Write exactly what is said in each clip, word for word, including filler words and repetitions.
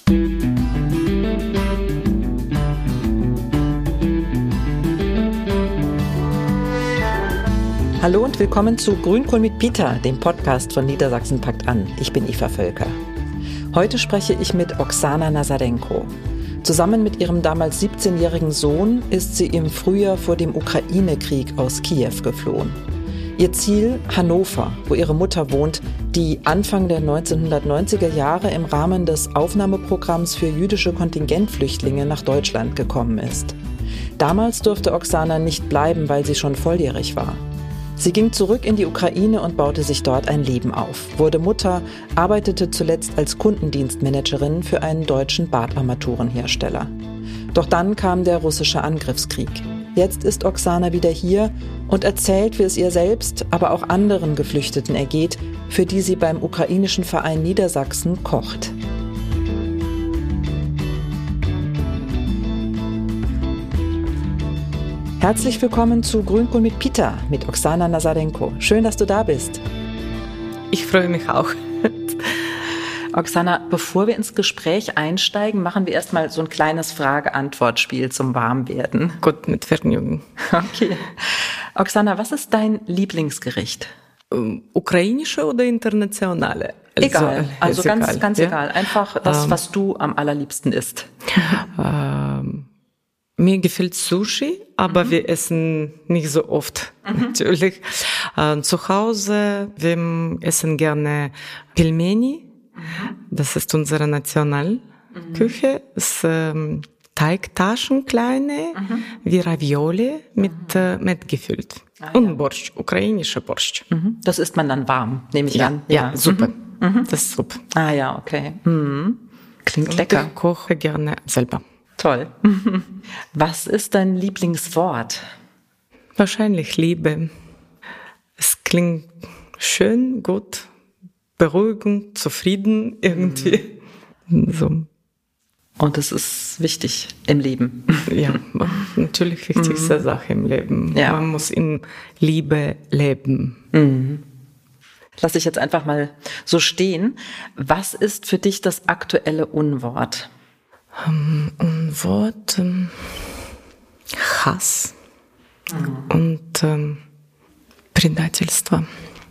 Hallo und willkommen zu Grünkohl mit Peter, dem Podcast von Niedersachsen packt an. Ich bin Eva Völker. Heute spreche ich mit Oksana Nasadenko. Zusammen mit ihrem damals siebzehnjährigen Sohn ist sie im Frühjahr vor dem Ukraine-Krieg aus Kiew geflohen. Ihr Ziel Hannover, wo ihre Mutter wohnt, die Anfang der neunzehnhundertneunziger Jahre im Rahmen des Aufnahmeprogramms für jüdische Kontingentflüchtlinge nach Deutschland gekommen ist. Damals durfte Oksana nicht bleiben, weil sie schon volljährig war. Sie ging zurück in die Ukraine und baute sich dort ein Leben auf, wurde Mutter, arbeitete zuletzt als Kundendienstmanagerin für einen deutschen Badarmaturenhersteller. Doch dann kam der russische Angriffskrieg. Jetzt ist Oksana wieder hier und erzählt, wie es ihr selbst, aber auch anderen Geflüchteten ergeht, für die sie beim ukrainischen Verein Niedersachsen kocht. Herzlich willkommen zu Grünkohl mit Peter mit Oksana Nasadenko. Schön, dass du da bist. Ich freue mich auch. Oksana, bevor wir ins Gespräch einsteigen, machen wir erstmal so ein kleines Frage-Antwort-Spiel zum Warmwerden. Gut, mit Vergnügen. Okay. Oksana, was ist dein Lieblingsgericht? Um, ukrainische oder internationale? Also, egal, also ganz, egal. ganz ja? egal. Einfach das, um, was du am allerliebsten isst. Um, Mir gefällt Sushi, aber mhm. wir essen nicht so oft, mhm. natürlich. Äh, zu Hause, wir essen gerne Pelmeni. Mhm. Das ist unsere Nationalküche. Mhm. Das, ähm, Teigtaschen kleine, mhm. wie Ravioli mit, mhm. äh, mit gefüllt. Ah, und ja. Borscht, ukrainischer Borscht. Mhm. Das isst man dann warm, nehme ich ja, an. Ja, ja, super. Mhm. Das ist super. Ah ja, okay. Mhm. Klingt und lecker. Ich koche gerne selber. Toll. Was ist dein Lieblingswort? Wahrscheinlich Liebe. Es klingt schön, gut, beruhigend, zufrieden irgendwie. Mhm. So. Und es ist wichtig im Leben. Ja, natürlich wichtigste mhm. Sache im Leben. Ja. Man muss in Liebe leben. Mhm. Lass ich jetzt einfach mal so stehen. Was ist für dich das aktuelle Unwort? Um, Unwort, um, Hass mhm. und um, Предательство.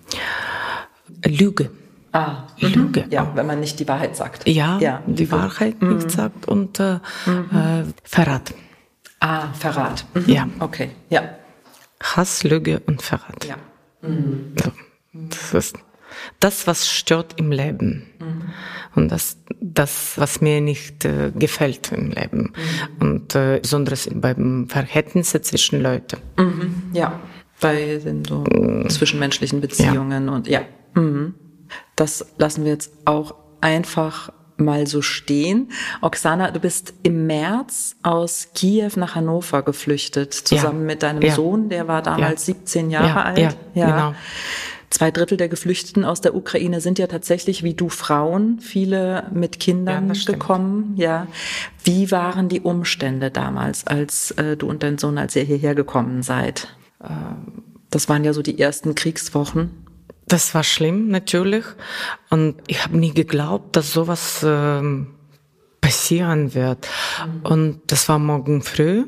Lüge. Ah, Lüge. Ja, auch. Wenn man nicht die Wahrheit sagt. Ja, ja. die Lüge. Wahrheit mhm. nicht sagt und äh, mhm. äh, Verrat. Ah, Verrat. Mhm. Ja. Okay, ja. Hass, Lüge und Verrat. Ja. Mhm. So. Das ist das, was stört im Leben. Mhm. Und das, das, was mir nicht äh, gefällt im Leben. Mhm. Und äh, besonders beim Verhältnisse zwischen Leuten. Mhm. Ja, bei den so mhm. zwischenmenschlichen Beziehungen. Ja. Und ja, mhm. das lassen wir jetzt auch einfach mal so stehen. Oksana, du bist im März aus Kiew nach Hannover geflüchtet, zusammen ja. mit deinem ja. Sohn, der war damals ja. siebzehn Jahre ja. alt. Ja, ja, genau. Zwei Drittel der Geflüchteten aus der Ukraine sind ja tatsächlich wie du Frauen, viele mit Kindern ja, gekommen. Ja. Wie waren die Umstände damals, als äh, du und dein Sohn, als ihr hierher gekommen seid? Ähm, das waren ja so die ersten Kriegswochen. Das war schlimm, natürlich. Und ich habe nie geglaubt, dass sowas ähm, passieren wird. Mhm. Und das war morgen früh.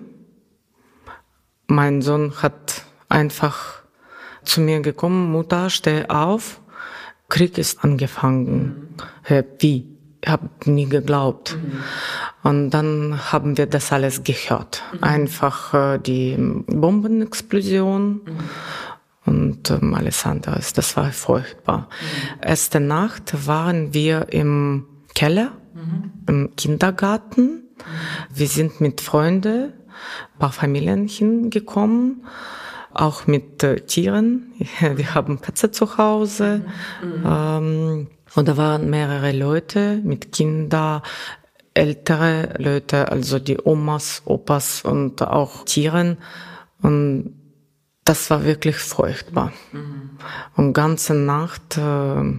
Mein Sohn hat einfach zu mir gekommen, Mutter, steh auf, Krieg ist angefangen. Mhm. Wie? Ich habe nie geglaubt. Mhm. Und dann haben wir das alles gehört. Mhm. Einfach äh, die Bombenexplosion mhm. und ähm, alles andere. Das war furchtbar. Mhm. Erste Nacht waren wir im Keller, mhm. im Kindergarten. Mhm. Wir sind mit Freunden, ein paar Familien hingekommen. Auch mit äh, Tieren. Wir haben Katze zu Hause. Mhm. Ähm, und da waren mehrere Leute mit Kindern, ältere Leute, also die Omas, Opas und auch Tieren. Und das war wirklich furchtbar. Mhm. Und ganze Nacht, äh,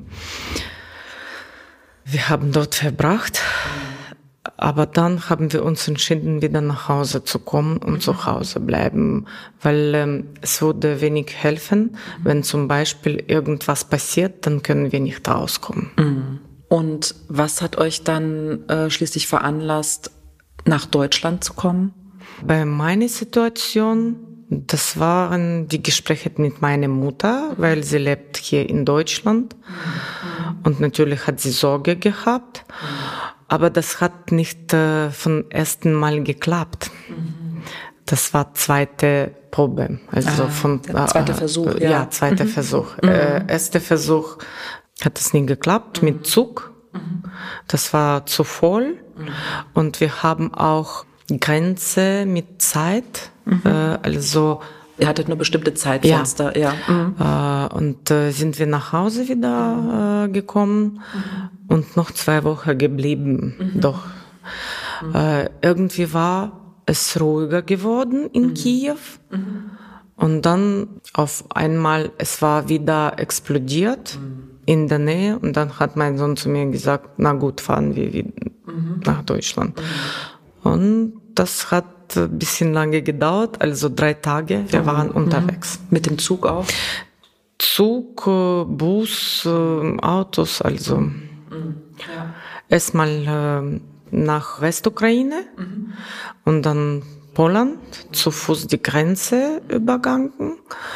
wir haben dort verbracht. Mhm. Aber dann haben wir uns entschieden, wieder nach Hause zu kommen und mhm. zu Hause bleiben, weil ähm, es würde wenig helfen, mhm. wenn zum Beispiel irgendwas passiert, dann können wir nicht rauskommen. Mhm. Und was hat euch dann äh, schließlich veranlasst, nach Deutschland zu kommen? Bei meiner Situation, das waren die Gespräche mit meiner Mutter, weil sie lebt hier in Deutschland. Mhm. Und natürlich hat sie Sorge gehabt. Mhm. Aber das hat nicht äh, vom ersten Mal geklappt. Mhm. Das war zweite Probe. Also ah, von, der zweite äh, Versuch, ja. Ja, zweiter mhm. Versuch. Mhm. Äh, erster Versuch hat es nie geklappt, mhm. mit Zug. Mhm. Das war zu voll. Mhm. Und wir haben auch Grenze mit Zeit, mhm. äh, also ihr hattet nur bestimmte Zeitfenster, ja. ja. Mhm. Äh, und äh, sind wir nach Hause wieder äh, gekommen mhm. und noch zwei Wochen geblieben. Mhm. Doch mhm. Äh, irgendwie war es ruhiger geworden in mhm. Kiew mhm. und dann auf einmal es war wieder explodiert mhm. in der Nähe und dann hat mein Sohn zu mir gesagt, na gut, fahren wir wieder mhm. nach Deutschland. Mhm. Und das hat ein bisschen lange gedauert, also drei Tage. Wir waren mhm. unterwegs. Mit dem Zug auch? Zug, Bus, Autos, also mhm. ja. erstmal nach Westukraine mhm. und dann Polen, zu Fuß die Grenze übergangen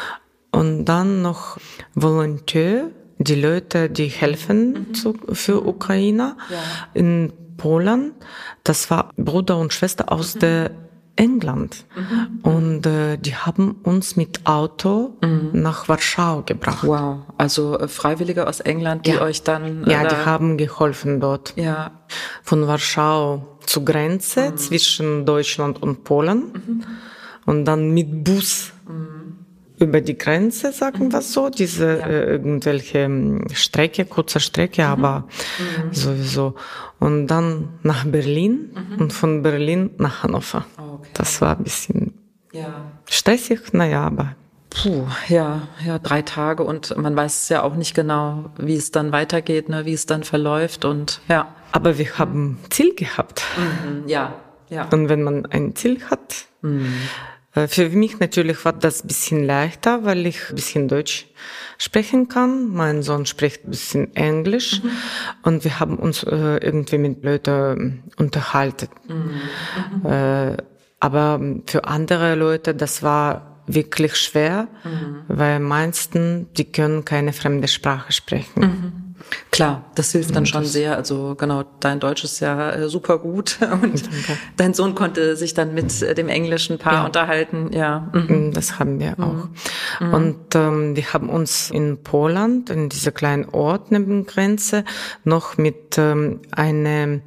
und dann noch Volontär, die Leute, die helfen mhm. zu, für Ukrainer ja. in Polen. Das war Bruder und Schwester aus mhm. der England. Mhm. Und äh, die haben uns mit Auto mhm. nach Warschau gebracht. Wow, also äh, Freiwillige aus England, die ja. euch dann... Äh, ja, die haben geholfen dort. Ja. Von Warschau zur Grenze mhm. zwischen Deutschland und Polen. Mhm. Und dann mit Bus mhm. über die Grenze, sagen wir so, diese ja. äh, irgendwelche Strecke, kurze Strecke, mhm. aber mhm. sowieso. Und dann nach Berlin mhm. und von Berlin nach Hannover. Okay. Das war ein bisschen ja. stressig, naja, aber... Puh, ja, ja, drei Tage und man weiß ja auch nicht genau, wie es dann weitergeht, ne, wie es dann verläuft und ja. Aber wir haben Ziel gehabt. Mhm. Ja, ja. Und wenn man ein Ziel hat... Mhm. Für mich natürlich war das ein bisschen leichter, weil ich ein bisschen Deutsch sprechen kann. Mein Sohn spricht ein bisschen Englisch mhm. und wir haben uns äh, irgendwie mit Leuten unterhalten. Mhm. Äh, aber für andere Leute, das war wirklich schwer, mhm. weil meisten, die können keine fremde Sprache sprechen. Mhm. Klar, das hilft dann schon sehr. Also genau, dein Deutsch ist ja äh, super gut und Danke. Dein Sohn konnte sich dann mit äh, dem englischen Paar ja. unterhalten. Ja, mhm. das haben wir auch. Mhm. Und ähm, wir haben uns in Polen, in dieser kleinen Ort neben Grenze, noch mit ähm, einer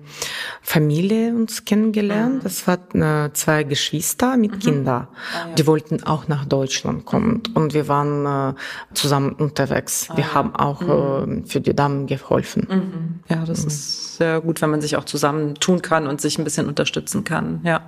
Familie uns kennengelernt. Mhm. Das waren äh, zwei Geschwister mit mhm. Kindern. Ah, ja. Die wollten auch nach Deutschland kommen mhm. und wir waren äh, zusammen unterwegs. Ah, wir ja. haben auch mhm. äh, für die Damen geholfen. Mhm. Ja, das mhm. ist sehr gut, wenn man sich auch zusammen tun kann und sich ein bisschen unterstützen kann. Ja.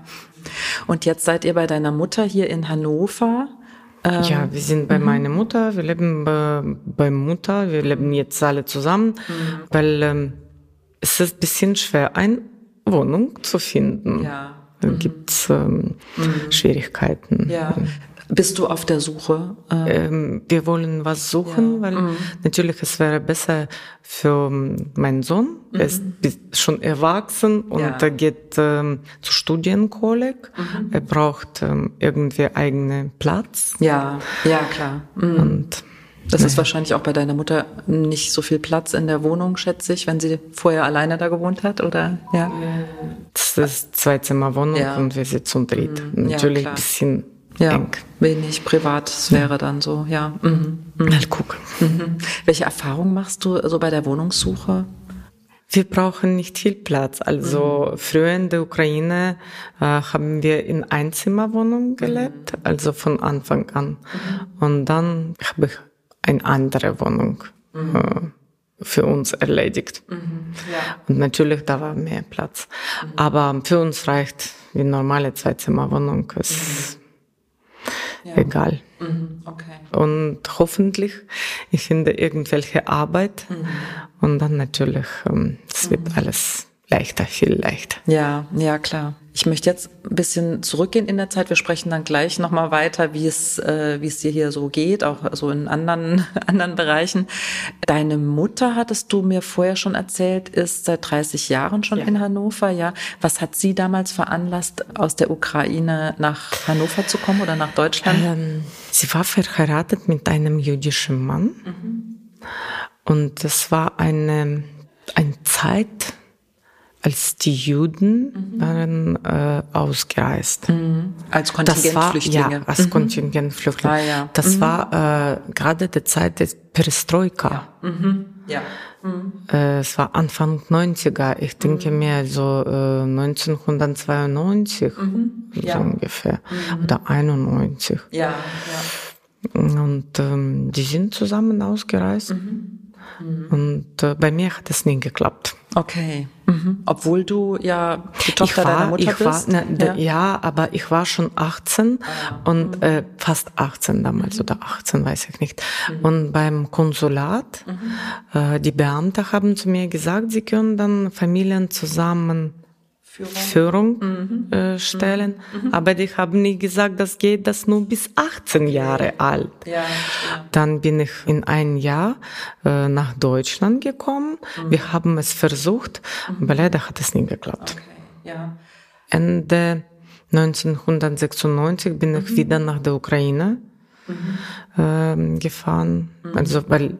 Und jetzt seid ihr bei deiner Mutter hier in Hannover. Ähm, ja, wir sind bei mhm. meiner Mutter, wir leben bei, bei Mutter, wir leben jetzt alle zusammen, mhm. weil ähm, es ist ein bisschen schwer, eine Wohnung zu finden. Ja. Da mhm. gibt's ähm, mhm. Schwierigkeiten. Ja. Bist du auf der Suche? Ähm, wir wollen was suchen, ja. weil mhm. natürlich es wäre besser für meinen Sohn. Mhm. Er ist schon erwachsen und ja. er geht ähm, zu Studienkolleg. Mhm. Er braucht ähm, irgendwie eigenen Platz. Ja, ja klar. Mhm. Und das ist ja. wahrscheinlich auch bei deiner Mutter nicht so viel Platz in der Wohnung, schätze ich, wenn sie vorher alleine da gewohnt hat, oder? Ja. Das ist Zwei-Zimmer-Wohnung ja. und wir sind zu dritt. Mhm. Natürlich ein bisschen ja, eng. Wenig Privatsphäre ja. dann so, ja. Mhm. Mhm. Mal gucken. Mhm. Welche Erfahrungen machst du so bei der Wohnungssuche? Wir brauchen nicht viel Platz. Also mhm. früher in der Ukraine äh, haben wir in Einzimmerwohnungen gelebt, mhm. also von Anfang an. Mhm. Und dann habe ich eine andere Wohnung mhm. äh, für uns erledigt. Mhm. Ja. Und natürlich, da war mehr Platz. Mhm. Aber für uns reicht die normale Zweizimmerwohnung. Ist mhm. Ja. egal. Mhm, okay. Und hoffentlich, ich finde irgendwelche Arbeit mhm. und dann natürlich, ähm, es wird mhm. alles leichter, viel leichter. Ja, ja, klar. Ich möchte jetzt ein bisschen zurückgehen in der Zeit. Wir sprechen dann gleich nochmal weiter, wie es, äh, wie es dir hier so geht, auch so in anderen, anderen Bereichen. Deine Mutter, hattest du mir vorher schon erzählt, ist seit dreißig Jahren schon ja. in Hannover, ja. Was hat sie damals veranlasst, aus der Ukraine nach Hannover zu kommen oder nach Deutschland? Ähm, sie war verheiratet mit einem jüdischen Mann. Mhm. Und das war eine, eine Zeit, als die Juden mhm. waren äh, ausgereist. Mhm. Als Kontingentflüchtlinge. Das war, ja, als mhm. Kontingentflüchtlinge. Ah, ja. Das mhm. war äh, gerade die Zeit des Perestroika. Ja. Mhm. Ja. Mhm. Äh, es war Anfang neunziger. Ich denke mhm. mir so äh, neunzehnhundertzweiundneunzig mhm. so ja. ungefähr. Mhm. Oder einundneunzig. Ja, ja. Und ähm, die sind zusammen ausgereist. Mhm. Mhm. Und äh, bei mir hat es nie geklappt. Okay. Mhm. Obwohl du ja die Tochter war, deiner Mutter ich bist? War, ne, ja. ja, aber ich war schon achtzehn ah, und mhm. äh, fast achtzehn damals mhm. oder achtzehn, weiß ich nicht. Mhm. Und beim Konsulat, mhm. äh, die Beamte haben zu mir gesagt, sie können dann Familien zusammen Führung, Führung mhm. äh, stellen, mhm. aber die haben nie gesagt, das geht das nur bis achtzehn Jahre alt. Ja, ja. Dann bin ich in ein Jahr äh, nach Deutschland gekommen. Mhm. Wir haben es versucht, mhm. aber leider hat es nie geklappt. Okay. Ja. Ende neunzehnhundertsechsundneunzig bin mhm. ich wieder nach der Ukraine mhm. äh, gefahren, mhm. also weil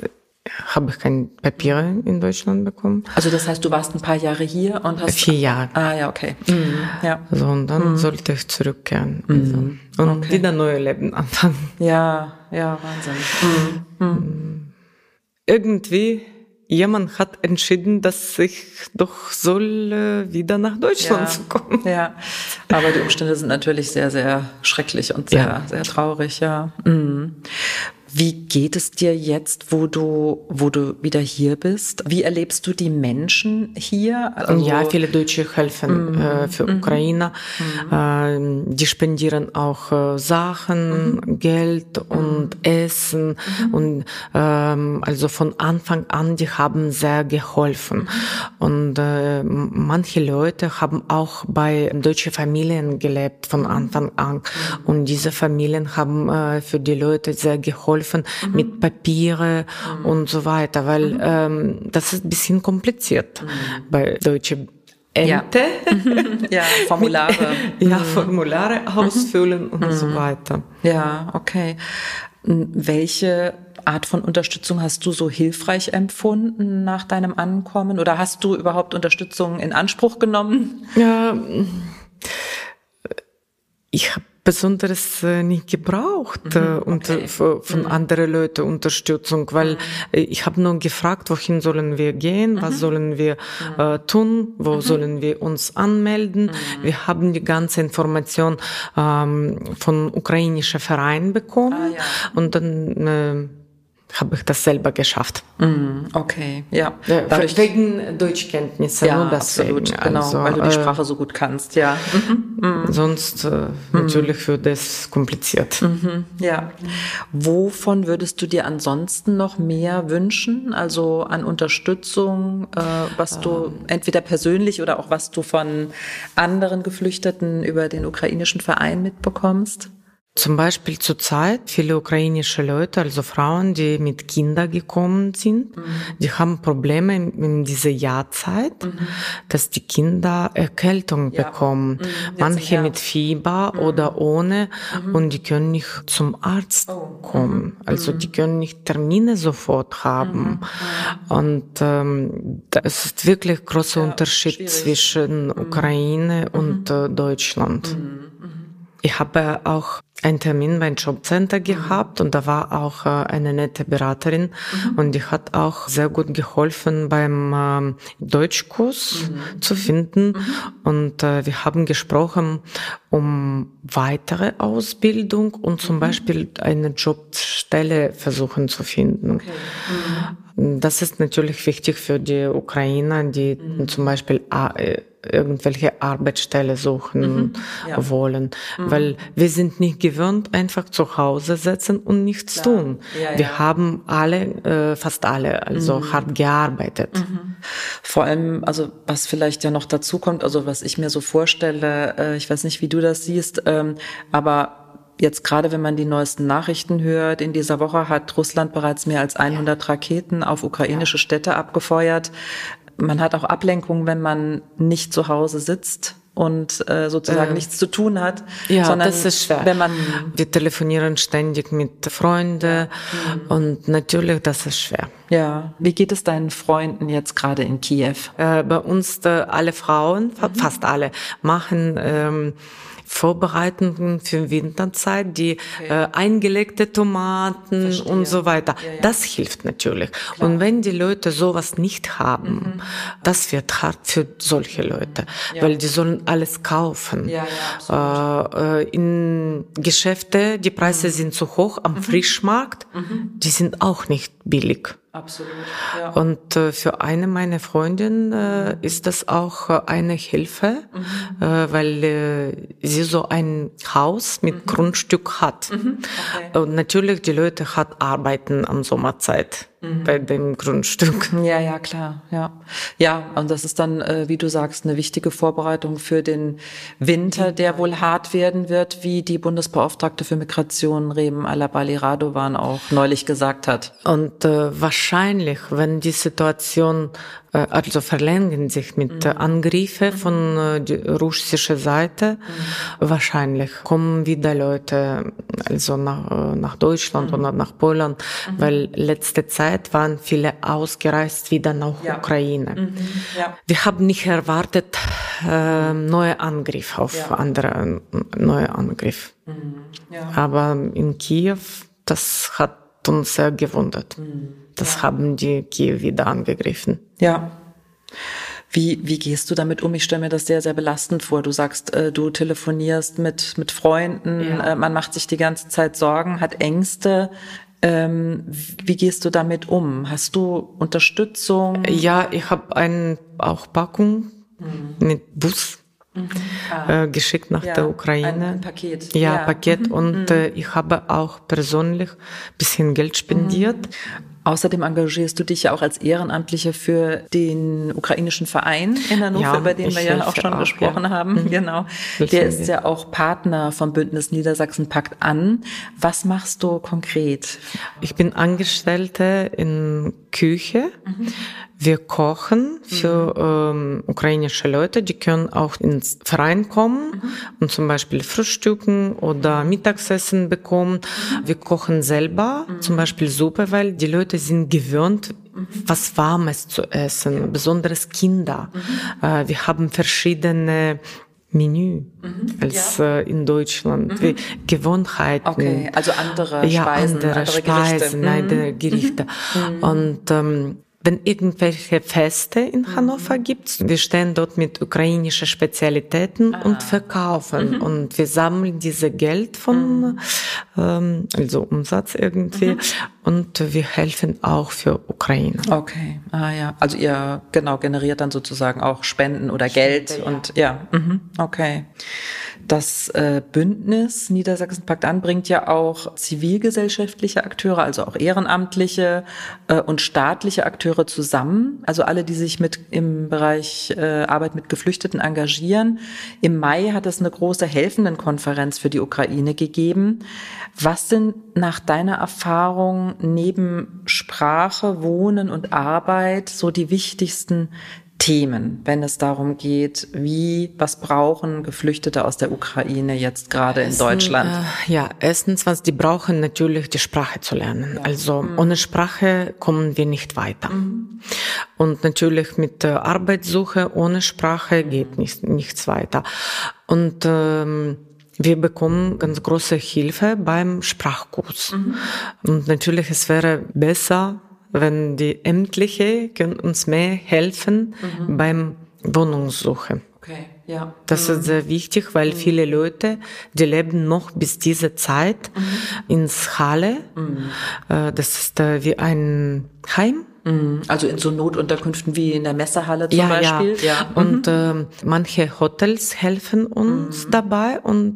habe ich keine Papiere in Deutschland bekommen. Also das heißt, du warst ein paar Jahre hier und hast... Vier Jahre. Ah ja, okay. Mhm. Ja. So, und dann mhm. sollte ich zurückkehren. Mhm. Also, und okay. wieder neue Leben anfangen. Ja, ja, Wahnsinn. Mhm. Mhm. Irgendwie, jemand hat entschieden, dass ich doch soll äh, wieder nach Deutschland ja. kommen. Ja, aber die Umstände sind natürlich sehr, sehr schrecklich und sehr, ja. sehr traurig, ja. Mhm. Wie geht es dir jetzt, wo du, wo du wieder hier bist? Wie erlebst du die Menschen hier? Also ja, viele Deutsche helfen mm, äh, für mm, Ukrainer. Mm. Äh, die spendieren auch äh, Sachen, mm. Geld und mm. Essen. Mm. Und ähm, also von Anfang an, die haben sehr geholfen. Mm. Und äh, manche Leute haben auch bei deutschen Familien gelebt von Anfang an. Mm. Und diese Familien haben äh, für die Leute sehr geholfen. Mhm. Mit Papiere mhm. und so weiter, weil mhm. ähm, das ist ein bisschen kompliziert mhm. bei deutschen Ämter. Ja, ja Formulare. ja, Formulare mhm. ausfüllen und mhm. so weiter. Ja, okay. Welche Art von Unterstützung hast du so hilfreich empfunden nach deinem Ankommen? Oder hast du überhaupt Unterstützung in Anspruch genommen? Ja, ich habe Besonderes äh, nicht gebraucht mhm, okay. und äh, von mhm. anderen Leuten Unterstützung, weil mhm. äh, ich habe nur gefragt, wohin sollen wir gehen, mhm. was sollen wir mhm. äh, tun, wo mhm. sollen wir uns anmelden. Mhm. Wir haben die ganze Information ähm, von ukrainischen Vereinen bekommen ah, ja. und dann äh, habe ich das selber geschafft. Mm, okay, ja. Dadurch, wegen Deutschkenntnisse, ja, nur deswegen. Absolut, genau, also, weil du die Sprache so gut kannst, ja. Mhm. Sonst äh, natürlich wird es kompliziert. Mhm, ja. Wovon würdest du dir ansonsten noch mehr wünschen? Also an Unterstützung, äh, was du ähm. entweder persönlich oder auch was du von anderen Geflüchteten über den ukrainischen Verein mitbekommst? Zum Beispiel zurzeit viele ukrainische Leute, also Frauen, die mit Kindern gekommen sind, mhm. die haben Probleme in, in dieser Jahrzeit, mhm. dass die Kinder Erkältung ja. bekommen. Mhm. Manche mit Fieber mhm. oder ohne mhm. und die können nicht zum Arzt oh. kommen. Also mhm. die können nicht Termine sofort haben. Mhm. Und ähm, das ist wirklich großer ja, Unterschied schwierig. zwischen mhm. Ukraine mhm. und äh, Deutschland. Mhm. Ich habe auch einen Termin beim Jobcenter gehabt und da war auch äh, eine nette Beraterin mhm. und die hat auch sehr gut geholfen beim ähm, Deutschkurs mhm. zu finden mhm. und äh, wir haben gesprochen um weitere Ausbildung und zum mhm. Beispiel eine Jobstelle versuchen zu finden. Okay. Mhm. Das ist natürlich wichtig für die Ukrainer, die mhm. zum Beispiel äh, irgendwelche Arbeitsstelle suchen mhm. ja. wollen, mhm. weil wir sind nicht gewöhnt, einfach zu Hause sitzen und nichts Klar. tun. Ja, ja. Wir haben alle, äh, fast alle, also mhm. hart gearbeitet. Mhm. Vor allem, also was vielleicht ja noch dazu kommt, also was ich mir so vorstelle, äh, ich weiß nicht, wie du das siehst, ähm, aber jetzt gerade, wenn man die neuesten Nachrichten hört, in dieser Woche hat Russland bereits mehr als hundert ja. Raketen auf ukrainische ja. Städte abgefeuert. Man hat auch Ablenkung, wenn man nicht zu Hause sitzt und äh, sozusagen äh, nichts zu tun hat. Ja, sondern das ist schwer. Wenn man Wir telefonieren ständig mit Freunden mhm. und natürlich, das ist schwer. Ja. Wie geht es deinen Freunden jetzt gerade in Kiew? Äh, bei uns äh, alle Frauen, mhm. fast alle, machen ähm, Vorbereitungen für Winterzeit, die okay. äh, eingelegte Tomaten Verstehe. Und so weiter. Ja, ja. Das hilft natürlich. Klar. Und wenn die Leute sowas nicht haben, mhm. das wird hart für solche Leute, ja. weil die sollen alles kaufen. Ja, ja, äh, äh, in Geschäfte, die Preise mhm. sind zu hoch, am mhm. Frischmarkt, mhm. die sind auch nicht billig. Absolut. Ja. Und äh, für eine meiner Freundinnen äh, ist das auch äh, eine Hilfe, mhm. äh, weil äh, sie so ein Haus mit mhm. Grundstück hat. Mhm. Okay. Und natürlich die Leute hat arbeiten am Sommerzeit. Mhm. Bei dem Grundstück. Ja, ja, klar, ja. Ja, und das ist dann, äh, wie du sagst, eine wichtige Vorbereitung für den Winter, der wohl hart werden wird, wie die Bundesbeauftragte für Migration, Rem Alabali Radovan, auch neulich gesagt hat. Und äh, wahrscheinlich, wenn die Situation äh, also verlängern sich mit mhm. Angriffen mhm. von äh, der russischen Seite, mhm. wahrscheinlich kommen wieder Leute also nach, äh, nach Deutschland mhm. oder nach Polen, mhm. weil letzte Zeit waren viele ausgereist wieder nach ja. Ukraine. Mhm. Ja. Wir haben nicht erwartet äh, neue Angriff auf ja. andere neue Angriff. Mhm. Ja. Aber in Kiew, das hat uns sehr gewundert. Mhm. Das ja. haben die Kiew wieder angegriffen. Ja. Wie, wie gehst du damit um? Ich stelle mir das sehr, sehr belastend vor. Du sagst, äh, du telefonierst mit, mit Freunden, ja. äh, man macht sich die ganze Zeit Sorgen, hat Ängste. Ähm, wie gehst du damit um? Hast du Unterstützung? Ja, ich habe eine auch Packung mhm. mit Bus mhm. ah. äh, geschickt nach ja, der Ukraine. Ein, ein Paket. Ja, ja. Paket. Mhm. Und äh, ich habe auch persönlich ein bisschen Geld spendiert. Mhm. Außerdem engagierst du dich ja auch als Ehrenamtliche für den ukrainischen Verein in Hannover, ja, über den wir ja auch schon auch, gesprochen ja. haben. Mhm. Genau. Der ist ja auch Partner vom Bündnis Niedersachsen Packt an. Was machst du konkret? Ich bin Angestellte in Küche. Mhm. Wir kochen für mhm. ähm, ukrainische Leute, die können auch ins Verein kommen mhm. und zum Beispiel frühstücken oder Mittagessen bekommen. Mhm. Wir kochen selber, mhm. zum Beispiel Suppe, weil die Leute sind gewöhnt, mhm. was Warmes zu essen, ja. besonders Kinder. Mhm. Äh, wir haben verschiedene Menü mhm, als ja. äh, in Deutschland, mhm. wie Gewohnheiten. Okay, also andere ja, Speisen, andere, andere Speisen, Gerichte. andere Gerichte. Mhm. Und ähm, wenn irgendwelche Feste in mhm. Hannover gibt, wir stehen dort mit ukrainischen Spezialitäten ah. und verkaufen. Mhm. Und wir sammeln diese Geld von, mhm. ähm, also Umsatz irgendwie. Mhm. Und wir helfen auch für Ukraine. Okay, ah ja. Also ihr genau generiert dann sozusagen auch Spenden oder Geld Spende, und ja, ja. Mhm. Okay. Das äh, Bündnis Niedersachsen Packt an bringt ja auch zivilgesellschaftliche Akteure, also auch ehrenamtliche äh, und staatliche Akteure zusammen. Also alle, die sich mit im Bereich äh, Arbeit mit Geflüchteten engagieren. Im Mai hat es eine große Helfendenkonferenz für die Ukraine gegeben. Was sind nach deiner Erfahrung neben Sprache, Wohnen und Arbeit so die wichtigsten Themen, wenn es darum geht, wie, was brauchen Geflüchtete aus der Ukraine jetzt gerade in Deutschland? Äh, ja, erstens, was die brauchen, natürlich die Sprache zu lernen. Ja. Also mhm. ohne Sprache kommen wir nicht weiter. Mhm. Und natürlich mit der Arbeitssuche ohne Sprache mhm. geht nicht, nichts weiter. Und ähm, wir bekommen ganz große Hilfe beim Sprachkurs. Mhm. Und natürlich, es wäre besser, wenn die Ämtliche können uns mehr helfen mhm. beim Wohnungssuche. Okay, ja. Das mhm. ist sehr wichtig, weil mhm. viele Leute, die leben noch bis diese Zeit mhm. ins Halle. Mhm. Das ist wie ein Heim. Also in so Notunterkünften wie in der Messehalle zum ja, Beispiel. Ja, ja. Und mhm. äh, manche Hotels helfen uns mhm. dabei und dort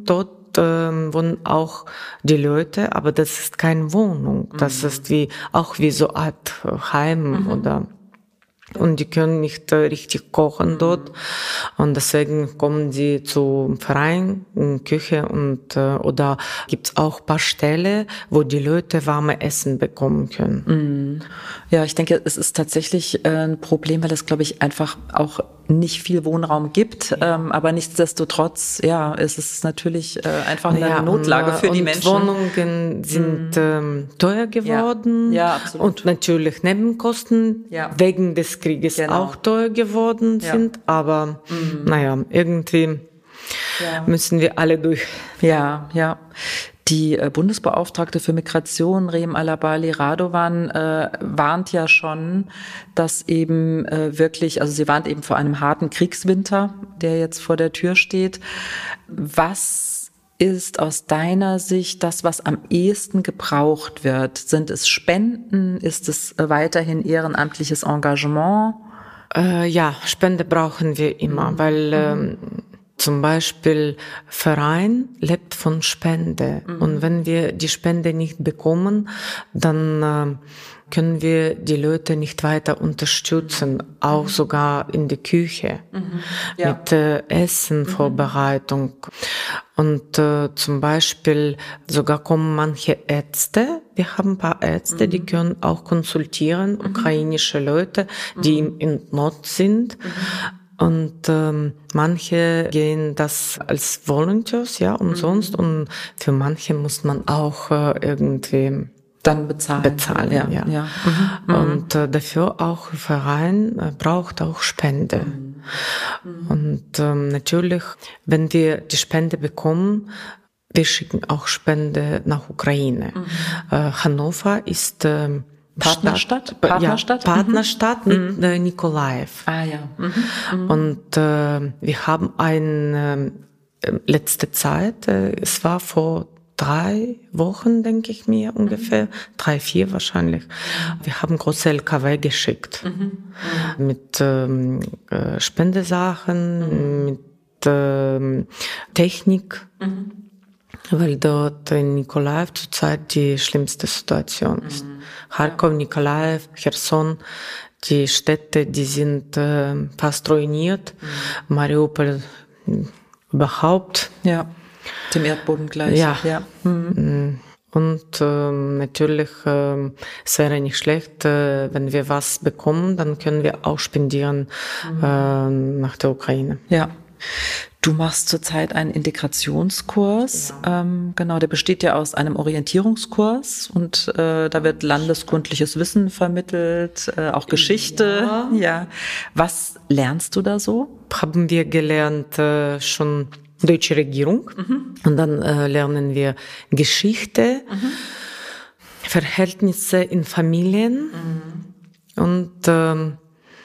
ähm, wohnen auch die Leute, aber das ist keine Wohnung. Das mhm. ist wie auch wie so eine Art Heim mhm. oder und die können nicht äh, richtig kochen dort und deswegen kommen sie zum Verein, in Küche und äh, oder gibt's auch ein paar Stellen, wo die Leute warme Essen bekommen können. Ja, ich denke, es ist tatsächlich äh, ein Problem, weil es, glaube ich, einfach auch nicht viel Wohnraum gibt, ja. ähm, aber nichtsdestotrotz, ja, es ist natürlich äh, einfach eine ja, Notlage für und, die und Menschen. Wohnungen sind mhm. ähm, teuer geworden ja. Ja, absolut. Und natürlich Nebenkosten ja. wegen des Krieges genau. auch teuer geworden ja. sind, aber mhm. naja, irgendwie ja. müssen wir alle durch. Ja, ja. Die äh, Bundesbeauftragte für Migration, Reem Alabali Radovan, äh, warnt ja schon, dass eben äh, wirklich, also sie warnt eben vor einem harten Kriegswinter, der jetzt vor der Tür steht. Was ist aus deiner Sicht das, was am ehesten gebraucht wird? Sind es Spenden? Ist es äh, weiterhin ehrenamtliches Engagement? Äh, ja, Spende brauchen wir immer, mhm. weil ähm, zum Beispiel Verein lebt von Spende. Mhm. Und wenn wir die Spende nicht bekommen, dann äh, können wir die Leute nicht weiter unterstützen, auch mhm. sogar in der Küche, mhm. ja. mit äh, Essenvorbereitung. Mhm. Und äh, zum Beispiel sogar kommen manche Ärzte, wir haben ein paar Ärzte, mhm. die können auch konsultieren, mhm. ukrainische Leute, die mhm. in Not sind. Mhm. Und ähm, manche gehen das als Volunteers, ja, umsonst. Mhm. Und für manche muss man auch äh, irgendwie dann bezahlen. Bezahlen, ja. ja. ja. Mhm. Und äh, dafür auch Verein äh, braucht auch Spende. Mhm. Mhm. Und ähm, natürlich, wenn wir die Spende bekommen, wir schicken auch Spende nach Ukraine. Mhm. Äh, Hannover ist äh, Partnerstadt? Stadt, Partnerstadt? Ja, Partnerstadt mhm. mit äh, Nikolaev. Ah ja. Mhm. Mhm. Und äh, wir haben eine äh, letzte Zeit, äh, es war vor drei Wochen, denke ich mir ungefähr, mhm. drei, vier wahrscheinlich. Wir haben große L K W geschickt mhm. Mhm. mit ähm, äh, Spendesachen, mhm. mit ähm, Technik. Mhm. Weil dort in Nikolaev zurzeit die schlimmste Situation ist. Mhm. Kharkov, Nikolaev, Cherson, die Städte, die sind äh, fast ruiniert. Mhm. Mariupol überhaupt. Ja, dem Erdboden gleich. Ja. ja. Mhm. Und äh, natürlich, äh, es wäre nicht schlecht, äh, wenn wir was bekommen, dann können wir auch spendieren mhm. äh, nach der Ukraine. Ja. Du machst zurzeit einen Integrationskurs, ja. ähm, genau, der besteht ja aus einem Orientierungskurs und äh, da wird landeskundliches Wissen vermittelt, äh, auch Geschichte. Ja. ja. Was lernst du da so? Haben wir gelernt äh, schon deutsche Regierung mhm. und dann äh, lernen wir Geschichte, mhm. Verhältnisse in Familien mhm. und ähm,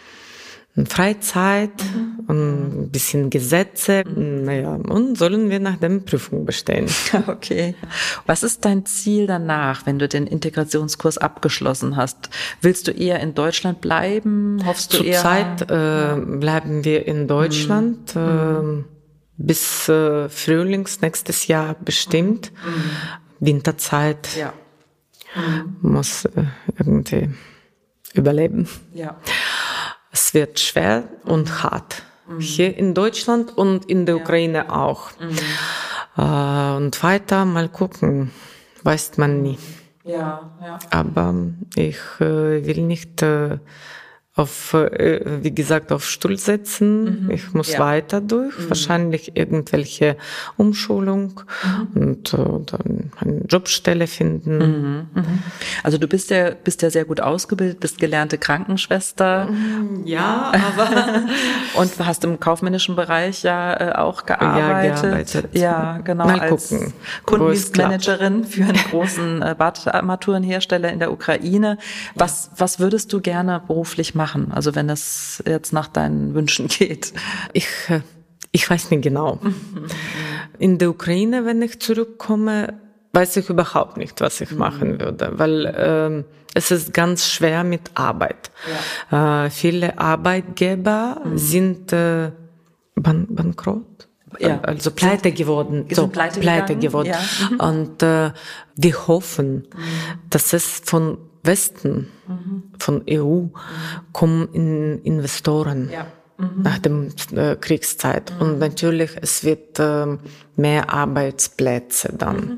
Freizeit mhm. und ein bisschen Gesetze, mhm. naja, und sollen wir nach der Prüfung bestehen. Okay. Was ist dein Ziel danach, wenn du den Integrationskurs abgeschlossen hast? Willst du eher in Deutschland bleiben? Hoffst du eher? Zurzeit äh, bleiben wir in Deutschland mhm. äh, bis äh, Frühlings nächstes Jahr bestimmt. Mhm. Winterzeit ja. mhm. muss äh, irgendwie überleben. Ja. Es wird schwer mhm. und hart. Mhm. Hier in Deutschland und in der ja. Ukraine auch. Mhm. Äh, und weiter mal gucken, weiß man nie. Ja, ja. Aber ich äh, will nicht äh, auf, äh, wie gesagt, auf Stuhl setzen. Mhm. Ich muss ja. weiter durch, mhm. wahrscheinlich irgendwelche Umschulung mhm. und äh, dann eine Jobstelle finden. Mhm. Mhm. Also du bist ja, bist ja sehr gut ausgebildet, bist gelernte Krankenschwester. Ja, aber... und hast im kaufmännischen Bereich ja äh, auch gearbeitet. Ja, gearbeitet. Ja, genau. Mal als gucken, Kundendienstmanagerin für einen großen äh, Badarmaturenhersteller in der Ukraine. Was, ja. was würdest du gerne beruflich machen? Also wenn es jetzt nach deinen Wünschen geht. Ich, ich weiß nicht genau. In der Ukraine, wenn ich zurückkomme, weiß ich überhaupt nicht, was ich machen würde, weil ähm, es ist ganz schwer mit Arbeit. Ja. Äh, viele Arbeitgeber mhm. sind äh, ban- bankrott. ja. also pleite geworden. Sind so, pleite, pleite geworden. Ja. Mhm. Und äh, wir hoffen, mhm. dass es von Westen, mhm. von E U, mhm. kommen in Investoren. Ja. Mhm. Nach der äh, Kriegszeit. Mhm. Und natürlich, es wird äh, mehr Arbeitsplätze dann. Mhm.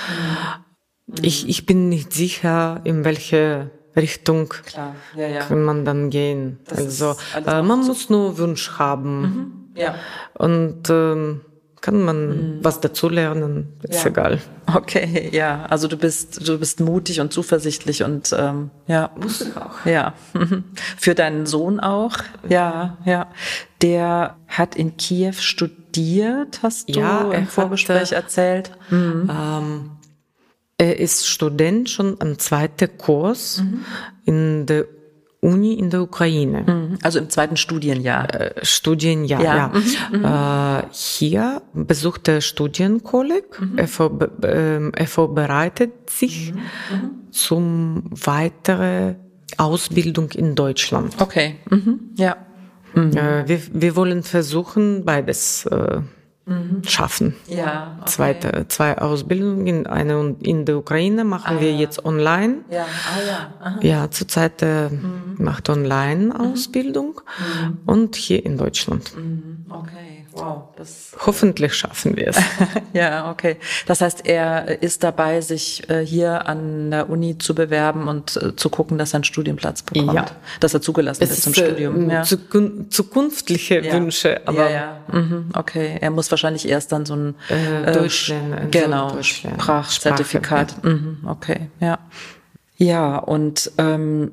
Mhm. Ich, ich bin nicht sicher, in welche Richtung Klar. Ja, ja. kann man dann gehen. Das also äh, man so muss nur Wunsch haben. Mhm. Ja. Und ähm, kann man mhm. was dazu lernen, ist ja. egal. Okay, ja, also du bist du bist mutig und zuversichtlich und ähm, ja, muss ich auch. Ja, für deinen Sohn auch. Ja, ja, der hat in Kiew studiert, hast du ja, im Vorgespräch hat, erzählt. Mhm. Ähm, er ist Student schon am zweiten Kurs mhm. in der Uni in der Ukraine. Also im zweiten Studienjahr. Äh, Studienjahr, ja. ja. Mhm. Äh, hier besucht er Studienkolleg. Mhm. Er, vor, äh, er vorbereitet sich mhm. zum weitere Ausbildung in Deutschland. Okay, mhm. ja. Mhm. Äh, wir, wir wollen versuchen, beides äh, mhm. schaffen. Ja, okay. Zweite, zwei Ausbildungen, eine in der Ukraine machen ah, wir ja. jetzt online. Ja, ah, ja. Aha. Ja, zurzeit äh, mhm. macht Online-Ausbildung mhm. und hier in Deutschland. Mhm. Okay, wow. Das Hoffentlich schaffen wir es. Ja, okay. Das heißt, er ist dabei, sich äh, hier an der Uni zu bewerben und äh, zu gucken, dass er einen Studienplatz bekommt. Ja. Dass er zugelassen es ist zum ist, Studium. Äh, ja. Zukun- zukünftige ja. Wünsche. Aber ja, ja. Mhm. Okay, er muss wahrscheinlich erst dann so ein äh, Deutschland, genau, so Deutschland, Sprachzertifikat. Sprache, ja. Mhm. Okay, ja. Ja, und ähm,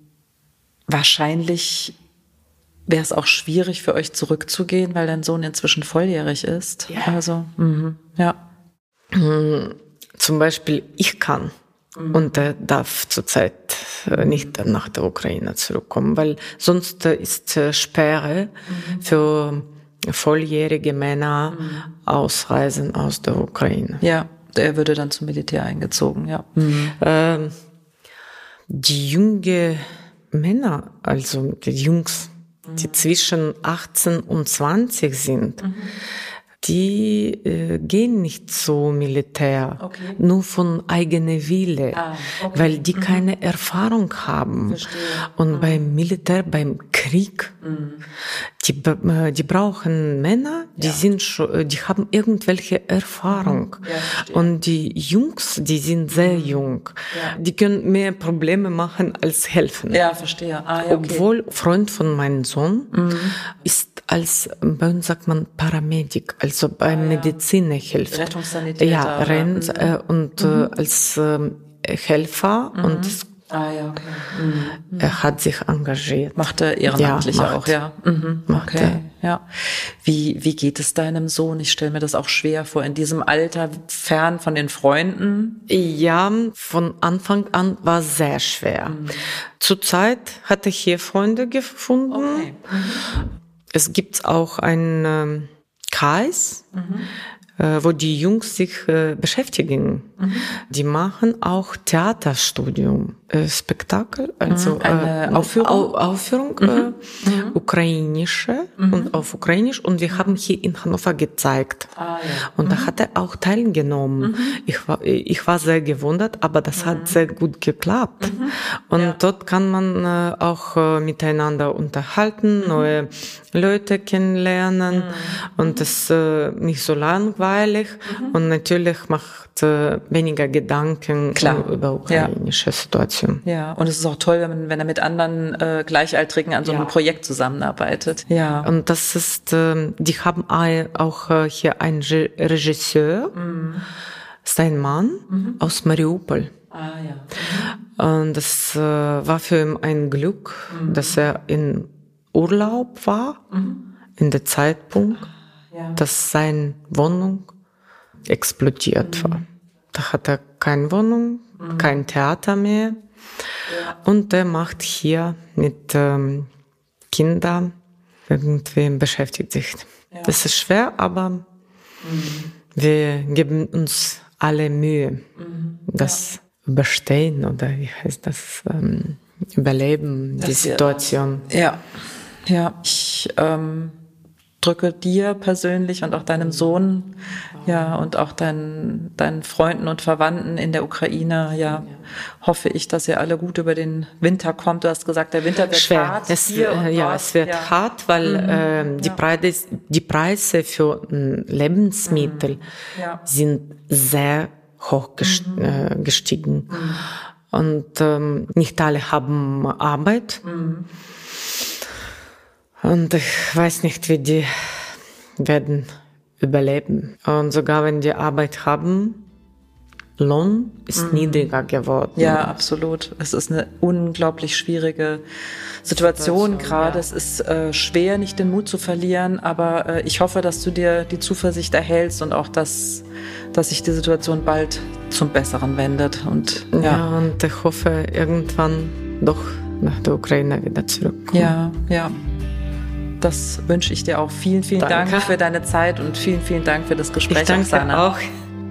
wahrscheinlich wäre es auch schwierig für euch zurückzugehen, weil dein Sohn inzwischen volljährig ist. Ja. Also, mhm. ja. Zum Beispiel, ich kann mhm. und er darf zurzeit nicht nach der Ukraine zurückkommen, weil sonst ist Sperre mhm. für volljährige Männer mhm. ausreisen aus der Ukraine. Ja, er würde dann zum Militär eingezogen, ja. Mhm. Ähm, die jungen Männer, also die Jungs, die zwischen achtzehn und zwanzig sind, mhm. die äh, gehen nicht so Militär, okay. nur von eigener Wille, ah, okay. weil die mhm. keine Erfahrung haben. Verstehe. Und mhm. beim Militär, beim Krieg, mhm. die, äh, die brauchen Männer, die ja. sind schon, die haben irgendwelche Erfahrung. Ja, und die Jungs, die sind sehr mhm. jung. Ja. Die können mehr Probleme machen als helfen. Ja, verstehe. Ah, ja, okay. Obwohl Freund von meinem Sohn mhm. ist als, bei uns sagt man Paramedic, also beim ah, ja. Mediziner hilft. Rettungssanitäter. Ja, rennt, mhm. äh, und mhm. äh, als äh, Helfer mhm. und ah, ja, okay. mhm. er hat sich engagiert. Macht er ehrenamtlich ja, auch, ja. Mhm. Macht okay, er. ja. Wie, wie geht es deinem Sohn? Ich stelle mir das auch schwer vor, in diesem Alter, fern von den Freunden. Ja, von Anfang an war sehr schwer. Mhm. Zurzeit hatte ich hier Freunde gefunden. Okay. Mhm. Es gibt auch einen ähm, Kreis, mhm. äh, wo die Jungs sich äh, beschäftigen. Mhm. Die machen auch Theaterstudium, äh, Spektakel, also eine äh, Aufführung, Au- Aufführung mhm. äh, mhm. ukrainische mhm. und auf Ukrainisch. Und wir haben hier in Hannover gezeigt. Ah, ja. Und mhm. da hat er auch teilgenommen. Mhm. Ich war, ich war sehr gewundert, aber das mhm. hat sehr gut geklappt. Mhm. Und ja. dort kann man äh, auch äh, miteinander unterhalten, mhm. neue Leute kennenlernen. Mhm. Und es ist äh, nicht so langweilig. Mhm. Und natürlich macht äh, weniger Gedanken Klar. über ukrainische ja. Situation. Ja, und es ist auch toll, wenn, man, wenn er mit anderen äh, Gleichaltrigen an so einem ja. Projekt zusammenarbeitet. Ja. Und das ist, äh, die haben auch äh, hier einen Regisseur, mhm. ist ein Mann mhm. aus Mariupol. Ah, ja. Mhm. Und das äh, war für ihn ein Glück, mhm. dass er in Urlaub war, mhm. in der Zeitpunkt, ja. dass seine Wohnung explodiert mhm. war. Da hat er keine Wohnung, mhm. kein Theater mehr. Ja. Und er macht hier mit ähm, Kindern irgendwie beschäftigt sich. Ja. Das ist schwer, aber mhm. wir geben uns alle Mühe, mhm. das ja. überstehen oder wie heißt das, ähm, überleben, das die Situation. Ja, ja. Ich ähm, drücke dir persönlich und auch deinem Sohn, ja, und auch deinen, deinen Freunden und Verwandten in der Ukraine, ja, hoffe ich, dass ihr alle gut über den Winter kommt. Du hast gesagt, der Winter wird schwer. hart. Es, äh, ja, dort. es wird ja. hart, weil mhm. äh, die, ja. Preise, die Preise für äh, Lebensmittel mhm. ja. sind sehr hoch gest- mhm. äh, gestiegen. Mhm. Und ähm, nicht alle haben Arbeit. Mhm. Und ich weiß nicht, wie die werden überleben. Und sogar wenn die Arbeit haben, Lohn ist mhm. niedriger geworden. Ja, absolut. Es ist eine unglaublich schwierige Situation, Situation gerade. Ja. Es ist äh, schwer, nicht den Mut zu verlieren, aber äh, ich hoffe, dass du dir die Zuversicht erhältst und auch, dass, dass sich die Situation bald zum Besseren wendet. Und, ja. ja, und ich hoffe, irgendwann doch nach der Ukraine wieder zurückkommen. Ja, ja. Das wünsche ich dir auch. Vielen, vielen Danke. Dank für deine Zeit und vielen, vielen Dank für das Gespräch, ich danke Oksana. auch.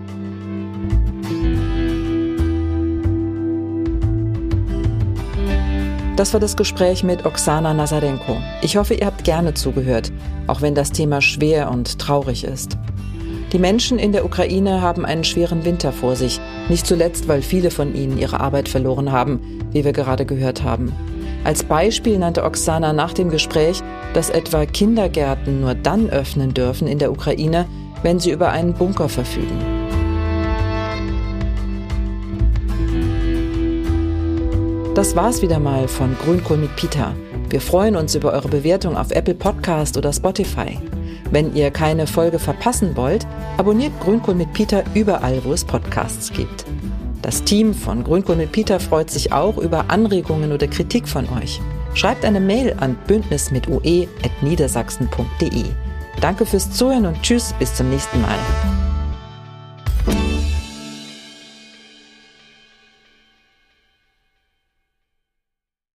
Das war das Gespräch mit Oksana Nazarenko. Ich hoffe, ihr habt gerne zugehört, auch wenn das Thema schwer und traurig ist. Die Menschen in der Ukraine haben einen schweren Winter vor sich, nicht zuletzt, weil viele von ihnen ihre Arbeit verloren haben, wie wir gerade gehört haben. Als Beispiel nannte Oksana nach dem Gespräch, dass etwa Kindergärten nur dann öffnen dürfen in der Ukraine, wenn sie über einen Bunker verfügen. Das war's wieder mal von Grünkohl mit Peter. Wir freuen uns über eure Bewertung auf Apple Podcast oder Spotify. Wenn ihr keine Folge verpassen wollt, abonniert Grünkohl mit Peter überall, wo es Podcasts gibt. Das Team von Grünkohl mit Peter freut sich auch über Anregungen oder Kritik von euch. Schreibt eine Mail an bündnis mit ue at niedersachsen punkt de. Danke fürs Zuhören und tschüss, bis zum nächsten Mal.